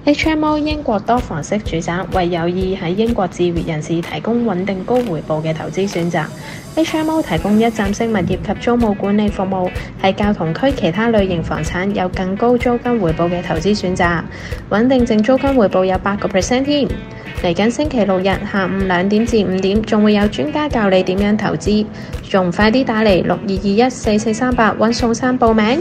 HMO 英國多房式住宅為有意喺英國置業人士提供穩定高回報嘅投資選擇。HMO 提供一站式物業及租務管理服務，係較同區其他類型房產有更高租金回報嘅投資選擇。穩定淨租金回報有8%添。嚟緊星期六日下午2點至5點，仲會有專家教你點樣投資，仲快啲打嚟62214438揾宋生報名。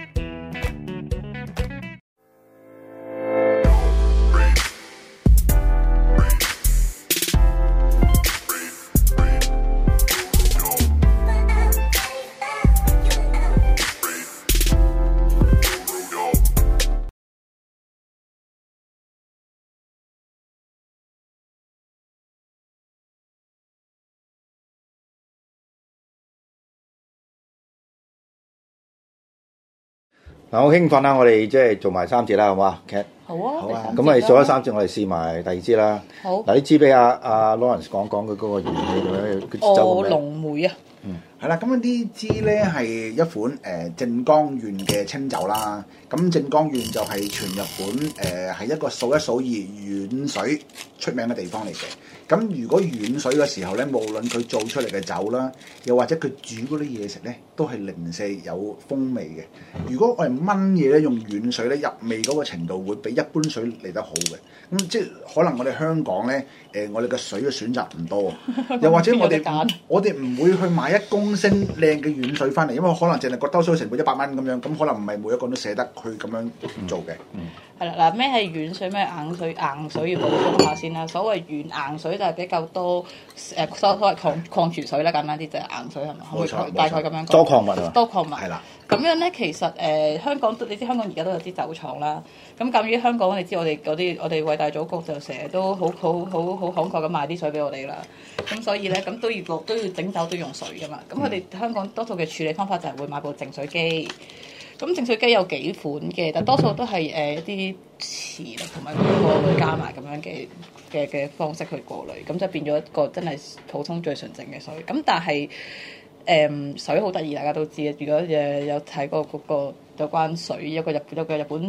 嗱，好興奮啊！我哋即係做埋3節啦，好嘛？劇好啊， 好啊。咁我哋做咗3節，我哋試埋第2支啦。 好。 嗱，呢支俾阿 Lawrence 講講佢嗰個原理佢臥龍梅啊。 係啦，咁呢支咧係一款靜岡縣嘅清酒啦。咁靜岡縣就係全日本係一個數一數二遠水出名嘅地方嚟嘅。咁如果遠水嘅時候咧，無論佢做出嚟嘅酒啦，又或者佢煮嗰啲嘢食咧，都係零舍有風味嘅。如果我哋燜嘢咧，用遠水咧，入味嗰個程度會比一般水嚟得好嘅。咁即係可能我哋香港咧，我哋嘅水嘅選擇唔多，又或者我哋唔會去買1公升靚嘅遠水翻嚟，因為可能淨係個兜水成本100蚊咁樣，咁可能唔係每一個都捨得去咁樣做嘅。 係啦，嗱，咩係軟水，咩硬水？硬水要補充下先啦。所謂軟硬水就係比較多所謂礦泉水啦，簡單啲就係硬水係咪？ 冇錯， 大概咁樣講。 多礦物啊！ 多礦物係啦。 咁樣咧，其實香港你知香港而家都有啲酒廠啦。咁鑑於香港，你知我哋偉大祖國就成日都好慷慨咁賣啲水俾我哋啦。咁所以咧，咁都要整酒都要用水噶嘛。咁佢哋香港多數嘅處理方法就係會買部淨水機。咁淨水機有幾款嘅，但多數都係一啲磁力同埋過濾加埋咁樣嘅方式去過濾，咁就變咗一個真係普通最純淨嘅水。咁但係水好得意，大家都知啊。如果有睇過嗰個有關水，有個日本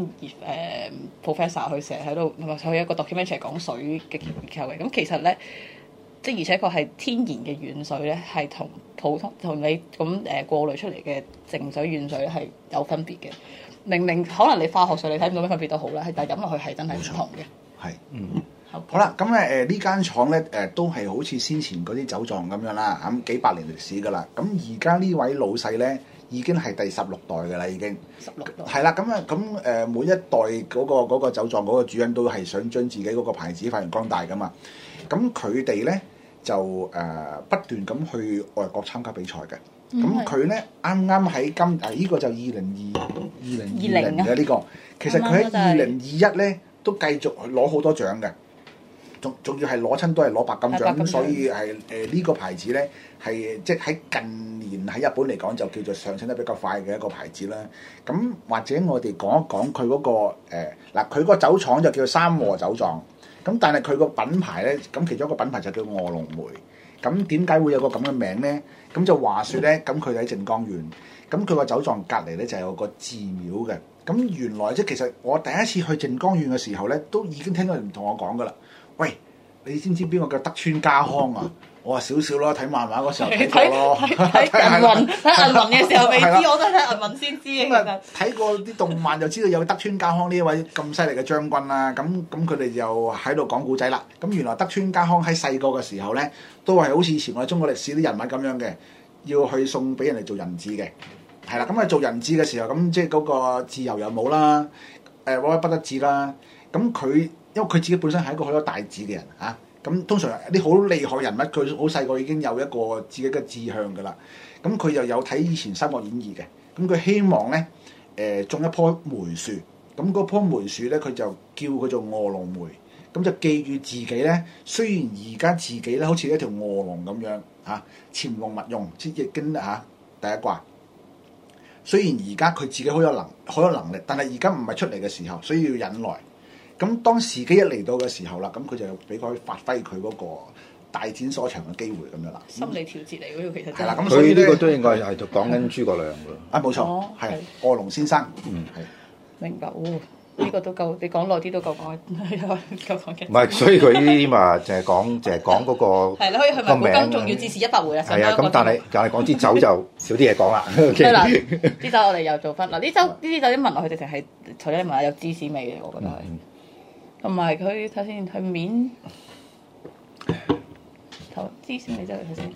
professor 佢成日喺度，佢有一個 documentary 講水嘅結構嘅。咁其實咧，即而且確係天然嘅軟水咧，係同普通同你咁過濾出嚟嘅淨水軟水係有分別嘅。明明可能你化學水你睇唔到咩分別都好啦，但係飲落去係真係唔同嘅。 係，好啦，咁呢間廠咧都係好似先前嗰啲酒莊咁樣啦，咁幾百年歷史噶啦。咁而家呢位老細咧已經係第16代嘅啦，已經。16代。係啦，咁每一代嗰個酒莊嗰個主人都係想將自己嗰個牌子發揚光大噶嘛。咁佢哋咧就不斷咁去外國參加比賽嘅。咁佢咧啱啱喺呢個就2020嘅呢個，其實佢喺2021咧都繼續攞好多獎嘅，仲要係攞親都係攞白金獎，咁所以係呢個牌子咧係即係喺近年喺日本嚟講就叫做上升得比較快嘅一個牌子啦。咁或者我哋講一講佢嗰個佢個酒廠就叫三和酒莊，咁但係佢個品牌咧，咁其中一個品牌就叫臥龍梅。咁點解會有個咁嘅名咧？咁就話説咧，咁佢喺靜岡縣，咁佢個酒莊隔離咧就有個寺廟嘅。咁原來即係其實我第一次去靜岡縣嘅時候咧，都已經聽到人同我講噶啦。喂，你知唔知邊個叫德川家康啊？我話少少咯，睇漫畫嗰時候睇過咯。 睇銀魂嘅時候未知，我都係睇銀魂先知嘅。其實睇過啲動漫就知道有德川家康呢一位咁犀利嘅將軍啦。咁佢哋就喺度講古仔啦。咁原來德川家康喺細個嘅時候咧，都係好似以前我哋中國歷史啲人物咁樣嘅，要去送俾人哋做人質嘅。係啦，咁做人質嘅時候，咁即係嗰個自由又冇啦，屈屈不得志啦。咁佢因為佢自己本身係一個好有大志嘅人嚇。咁通常啲好厲害人物，佢好細個已經有一個自己嘅志向㗎啦。咁佢又有睇以前《三國演義》嘅，咁佢希望咧種一棵梅樹，咁嗰棵梅樹咧佢就叫佢做臥龍梅，咁就記住自己咧。雖然而家自己咧好似一條臥龍咁樣嚇，潛龍勿用，即係易經第一卦。雖然而家佢自己好有能力，但係而家唔係出嚟嘅時候，所以要忍耐。咁當時機一嚟到嘅時候啦，咁佢就俾佢發揮佢嗰個大展所長嘅機會咁樣啦。 心理調節嚟嗰個其實係啦，咁所以呢個都應該係講緊諸葛亮㗎。 冇錯，係臥龍先生。係明白喎。 呢個都夠，你講耐啲都夠講，夠講嘅。 唔係，所以佢呢啲嘛，就係講嗰個係你可以去埋古今，仲要至少100回啊！ 係啊，咁但係講支酒就少啲嘢講啦。 係啦，啲酒我哋又做翻嗱，呢啲酒一聞落去直情係除咗你聞下有芝士味嘅，我覺得係。同埋佢睇先，佢面頭芝士味真係睇先，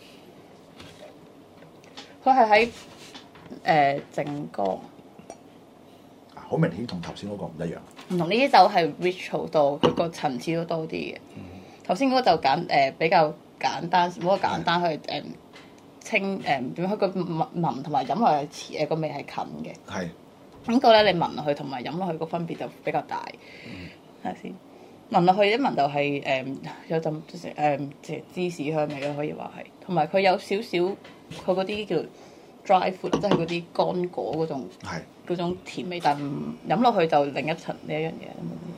佢係喺靜岡。 好明顯同頭先嗰個唔一樣。 唔同呢啲酒係 rich 好多，佢個層次都多啲嘅。頭先嗰個就比較簡單，冇咁簡單，佢清點樣？佢個聞同埋飲落去個味係近嘅。 係。 咁個咧，你聞落去同埋飲落去個分別就比較大。睇下先，聞落去一聞就係有陣芝士香味咯，可以話係。同埋佢有少少佢嗰啲叫 dry fruit，即係嗰啲乾果嗰種。係。嗰種甜味，但飲落去就另一層呢一樣嘢。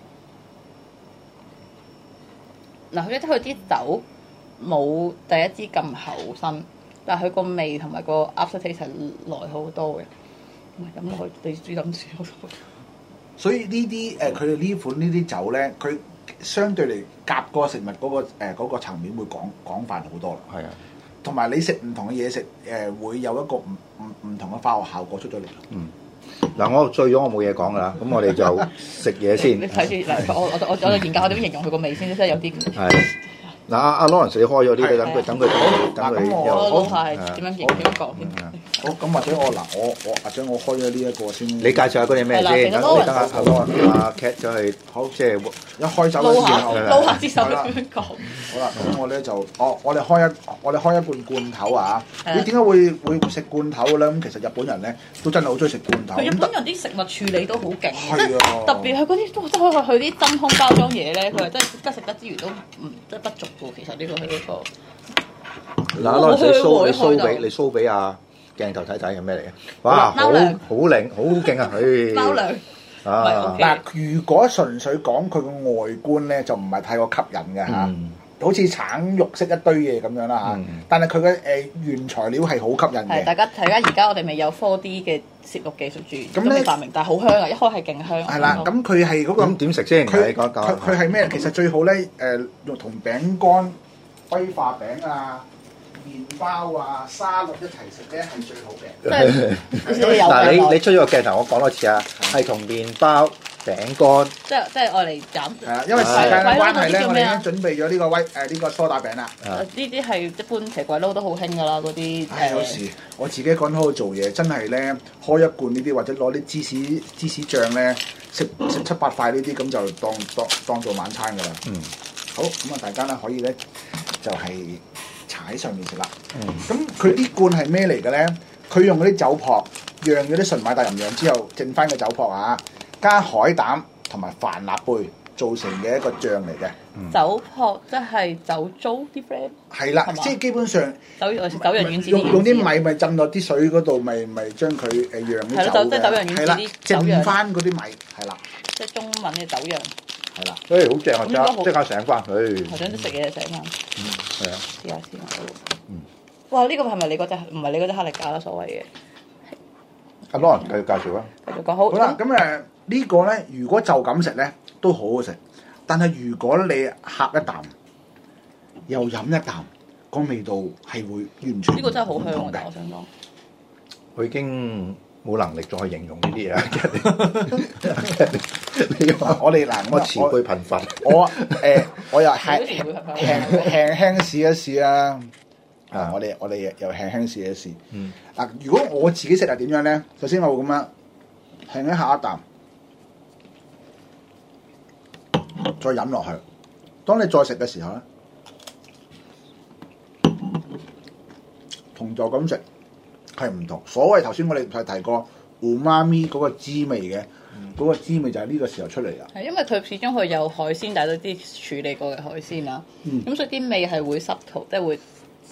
嗱，佢啲酒冇第一支咁厚身，但係佢個味同埋個 after taste 係耐好多嘅。飲落去你煮飲住好多。 所以呢啲佢哋呢款呢啲酒咧，佢相對嚟夾個食物嗰個層面會廣泛好多啦。係啊，同埋你食唔同嘅嘢食會有一個唔同嘅化學效果出咗嚟。嗯。 嗱，我醉咗，我冇嘢講噶啦，咁我哋就食嘢先。 你睇住嗱，我研究下點形容佢個味先，真係有啲。係。 嗱，阿 Lawrence 你開咗啲，等佢。 我係點樣講先？ 好，咁或者我開咗呢一個先。 你介紹下嗰啲咩先？等阿 Cat 就係好，即係一開酒嘅時候， 撈下支手咁樣講。 好啦，咁我咧就我哋開一罐罐頭啊！你點解會食罐頭嘅咧？咁其實日本人咧都真係好中意食罐頭。 日本人啲食物處理都好勁，即係特別係嗰啲都佢啲真空包裝嘢咧，佢係真係食得之餘都即係不足嘅。其實呢個係一個。 嗱，Lawrence你 show 俾阿鏡頭睇睇係咩嚟嘅？哇，好靚，好勁啊！佢貓糧啊！ 嗱，如果純粹講佢個外觀咧，就唔係太過吸引嘅嚇，好似橙肉色一堆嘢咁樣啦嚇。但係佢嘅原材料係好吸引嘅。 係大家而家我哋未有 4D 嘅攝錄技術住，咁未發明，但係好香啊！一開係勁香。 係啦，咁佢係嗰個咁點食先？ 佢係咩？其實最好咧用同餅乾、威化餅啊、麵包啊、沙律一齊食咧係最好嘅。 嗱，你出咗個鏡頭，我講多次啊，係同麵包、餅乾， 即係愛嚟斬。 係啊，因為時間嘅關係咧，我哋已經準備咗呢個梳打餅啦。 呢啲係一般蛇鬼撈都好興㗎啦，嗰啲。 有時我自己一個人喺度做嘢，真係咧開一罐呢啲，或者攞啲芝士醬咧，食7-8塊呢啲，咁就當做晚餐㗎啦。好，咁啊大家咧可以咧就係搽喺上面食啦。咁佢呢罐係咩嚟嘅咧？佢用嗰啲酒粕釀咗啲純米大吟釀之後，剩翻嘅酒粕啊，加海膽同埋帆立貝做成嘅一個醬嚟嘅。 酒粕即係酒糟啲 friend。係啦，即係基本上酒釀丸子用啲米咪浸落啲水嗰度，咪將佢釀啲酒嘅。係啦， 即係酒釀丸子啲酒釀。 剩翻嗰啲米係啦。 即係中文嘅酒釀。 係啦，所以好正啊！即刻醒翻佢。 頭先都食嘢醒翻。 係啊。 試下先。哇！呢個係咪你嗰隻？唔係你嗰隻克力架啦，所謂嘅。 阿 Lawrence 繼續介紹啊。 繼續講好。 好啦，咁呢個咧，如果就咁食咧，都好好食。但係如果你喝一啖，又飲一啖，個味道係會完全呢個真係好香嘅，我想講。 佢已經冇能力再去形容呢啲嘢。 我哋嗱， 我詞彙貧乏。 我又係輕試一試啊！我哋又輕試一試。嗱，如果我自己食係點樣咧？首先我會咁樣輕一下一啖，再飲落去。當你再食嘅時候咧，同就咁食係唔同。所謂頭先我哋係提過umami嗰個滋味嘅，嗰個滋味就係呢個時候出嚟啦。 係因為佢始終佢有海鮮，但係都啲處理過嘅海鮮啦。咁所以啲味係會濕透，即係會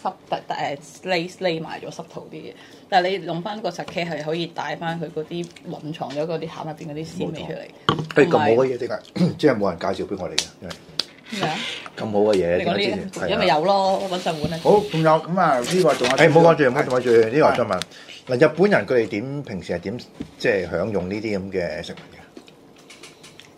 匿埋咗濕透啲嘢。但係你用翻個 sake 係可以帶翻佢嗰啲隱藏咗嗰啲餡入邊嗰啲鮮味出嚟。 咁好嘅嘢點解？即係冇人介紹俾我哋嘅，因為咩啊？ 咁好嘅嘢， 你講呢？因為有咯，揾上門啊。 好，仲有咁啊？呢個仲有。 唔好講住，唔好講住。呢個我想問嗱，日本人佢哋平時係點即係享用呢啲咁嘅食物嘅？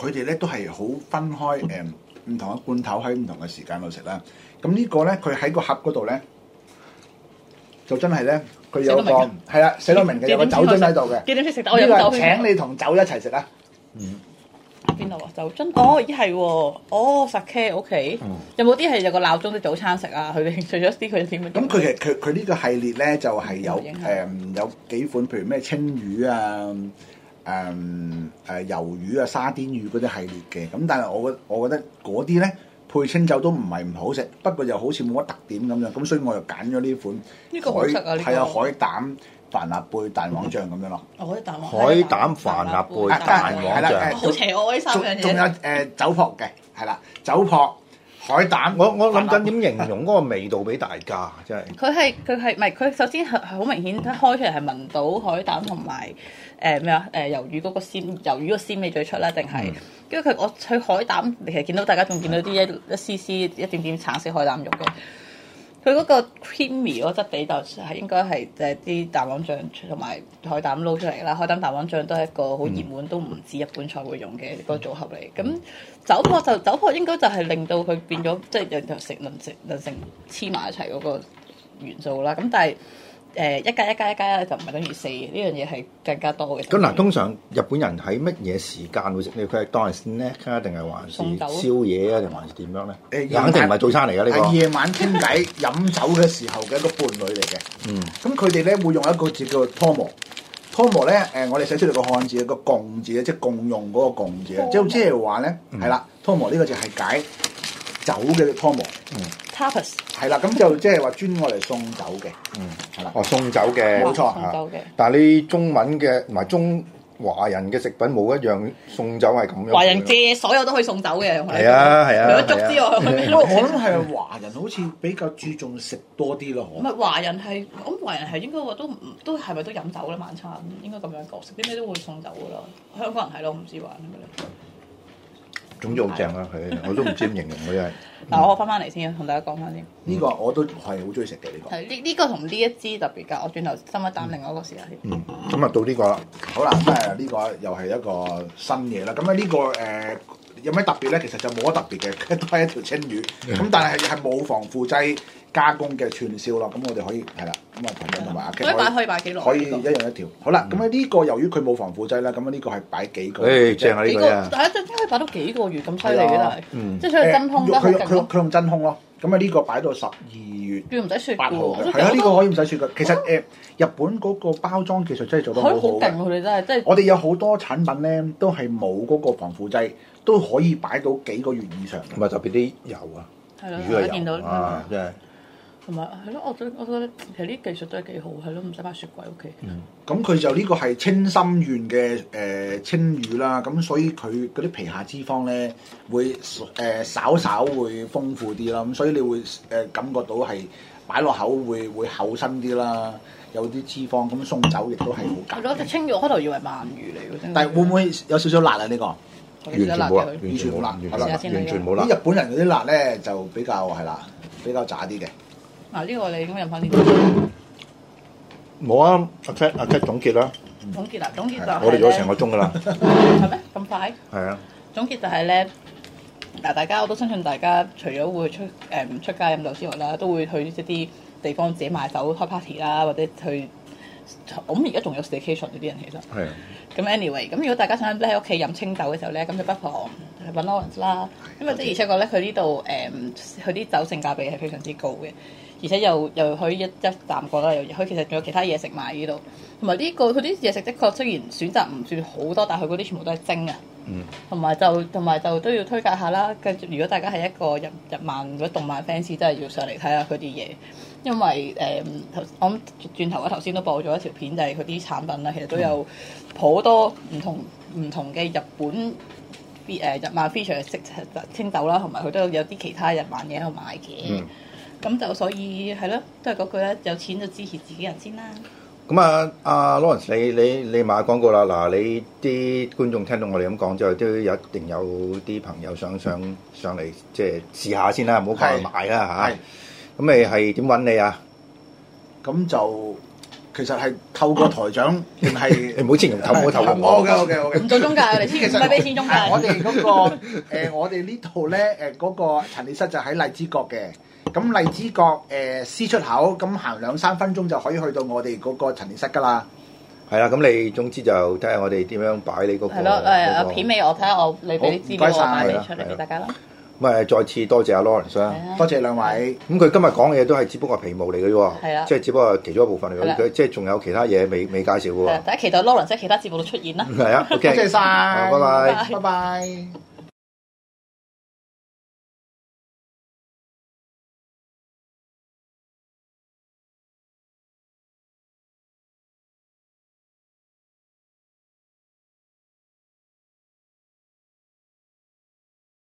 佢哋咧都係好分開唔同嘅罐頭喺唔同嘅時間度食啦。咁呢個咧佢喺個盒嗰度咧，就真係咧佢有個係啦，寫到明嘅有個酒樽喺度嘅。 幾點先食？我飲酒。 請你同酒一齊食啊！ 邊度啊？酒樽哦，咦係喎，哦 sake OK。有冇啲係有個鬧鐘啲早餐食啊？佢哋除咗啲佢點？ 咁佢其實佢呢個系列咧就係有有幾款，譬如咩青魚啊、魷魚啊、沙甸魚嗰啲系列嘅。咁但係我覺得嗰啲咧配清酒都唔係唔好食，不過又好似冇乜特點咁樣。咁所以我又揀咗呢款。 呢個好食啊！呢個係啊，海膽帆立貝蛋黃醬咁樣咯。 海膽帆立貝蛋黃醬， 好邪惡呢三樣嘢。 仲有酒粕嘅，係啦，酒粕、海膽。 我諗緊點形容嗰個味道俾大家，真係。 佢係唔係佢首先係好明顯，開出嚟係聞到海膽同埋魷魚嗰個鮮魷魚個鮮味最出啦，定係？跟住我去海膽，其實見到大家仲見到啲一絲絲一點點橙色海膽肉嘅。佢嗰個 creamy 嗰質地就係應該係啲蛋黃醬同埋海膽撈出嚟啦。海膽蛋黃醬都係一個好熱門，都唔止日本菜會用嘅個組合嚟。咁酒粕應該就係令到佢變咗，即係能成黐埋一齊嗰個元素啦。咁但係一加一就唔係等於4，呢樣嘢係更加多嘅。 咁嗱，通常日本人喺乜嘢時間會食呢？佢係當係 snack 啊，定係還是宵夜啊，定還是點樣咧？肯定唔係早餐嚟㗎呢個。 係夜晚傾偈飲酒嘅時候嘅一個伴侶嚟嘅。咁佢哋咧會用一個字叫做 tomo。tomo 咧我哋寫出嚟個漢字個共字咧，即係共用嗰個共字啊。即係話咧係啦 ，tomo 呢個字係解酒嘅 tomo。 tapas 係啦，咁就即係話專愛嚟送酒嘅。係啦。 哦，送酒嘅， 冇錯。 送酒嘅。 但係你中文嘅同埋中華人嘅食品冇一樣送酒係咁樣。 華人借所有都可以送酒嘅。 係啊， 除咗粥之外， 我諗係華人好似比較注重食多啲咯。 唔係華人係，我諗華人係應該話都係咪都飲酒咧？晚餐應該咁樣講，食啲咩都會送酒噶啦。香港人係咯，唔知話係咪咧？ 總之好正啦，佢我都唔知點形容佢真係。 嗱，我翻嚟先，同大家講翻先。 呢個我都係好中意食嘅呢個。 係呢個同呢一支特別㗎，我轉頭深一啖另外一個試下先。 咁啊到呢個啦。 好啦，咁呢個又係一個新嘢啦。咁啊呢個有咩特別咧？其實就冇乜特別嘅，都係一條青魚。咁但係冇防腐劑加工嘅串燒咯。咁我哋可以係啦。咁啊同埋阿 K 可以擺幾耐？ 可以一樣一條。好啦，咁啊呢個由於佢冇防腐劑啦，咁啊呢個係擺幾個？ 正啊呢個啊！ 但係真可以擺到幾個月咁犀利嘅，但係即係所以真空得好勁。 佢用真空咯。咁啊呢個擺到12月唔使雪 8號嘅。係啊，呢個可以唔使雪嘅。其實日本嗰個包裝技術真係做得好好嘅。 好勁，佢哋真係即係。 我哋有好多產品咧，都係冇嗰個防腐劑，都可以擺到幾個月以上。 唔係特別啲油啊， 魚嘅油啊，真係。 同埋係咯，我覺得其實呢啲技術都係幾好，係咯，唔使擺雪櫃屋企。 咁佢就呢個係青森縣嘅青魚啦，咁所以佢嗰啲皮下脂肪咧會稍稍會豐富啲啦，咁所以你會感覺到係擺落口會厚身啲啦，有啲脂肪，咁送酒亦都係好夾。 係咯，隻青魚我開頭以為鰻魚嚟嘅， 但係會唔會有少少辣啊？呢個完全冇辣， 完全冇辣， 完全冇辣。 啲日本人嗰啲辣咧就比較係啦，比較渣啲嘅。 嗱呢個你咁飲翻呢冇啊！阿 Cat 總結啦。 總結就係我哋做咗成個鐘噶啦。 係咩？咁快？ 係啊。 總結就係咧，嗱大家我都相信大家除咗會出街飲酒之外啦，都會去一啲地方自己買酒開 party 啦，或者去。我諗而家仲有 staycation 嗰啲人其實。係。咁 anyway，咁如果大家想喺屋企飲清酒嘅時候咧，咁就不妨揾 Lawrence 啦，因為的而且確咧，佢呢度佢啲酒性價比係非常之高嘅，而且又可以一啖過啦，佢其實仲有其他嘢食埋呢度，同埋呢個佢啲嘢食的確雖然選擇唔算好多，但係佢嗰啲全部都係蒸啊，同埋就都要推介下啦。跟住如果大家係一個日漫或者動漫 fans，真係要上嚟睇下佢啲嘢。因為我諗轉頭頭先都播咗一條片，就係佢啲產品啦，其實都有好多唔同嘅日本日漫 feature 嘅清酒啦，同埋佢都有啲其他日漫嘢喺度賣嘅。咁就所以係咯，都係嗰句啦，有錢就支持自己人先啦。 咁啊，阿 Lawrence，你買廣告啦。嗱，你啲觀眾聽到我哋咁講之後，都一定有啲朋友想上嚟即係試下先啦，唔好過去買啦嚇。咁你係點揾你啊？ 咁就其實係透過台長定係你唔好前用頭，唔好頭我 OK， 唔做中介，我哋其實唔係俾錢中介。 我哋嗰個我哋呢度咧嗰個陳列室就喺荔枝角嘅。咁荔枝角C 出口，咁行2-3分鐘就可以去到我哋嗰個陳列室㗎啦。 係啦，咁你總之就睇下我哋點樣擺你嗰個。 係咯，片尾我睇下你俾啲資料我擺俾出嚟俾大家啦。 咁再次多謝阿 Lawrence 啦， 多謝兩位。 咁佢今日講嘅嘢都係只不過皮毛嚟嘅啫喎， 係啦， 即係只不過其中一部分嚟嘅，佢即係仲有其他嘢未介紹嘅喎。 大家期待 Lawrence 喺其他節目度出現啦。 係啊，OK， 多謝晒， 拜拜， 拜拜。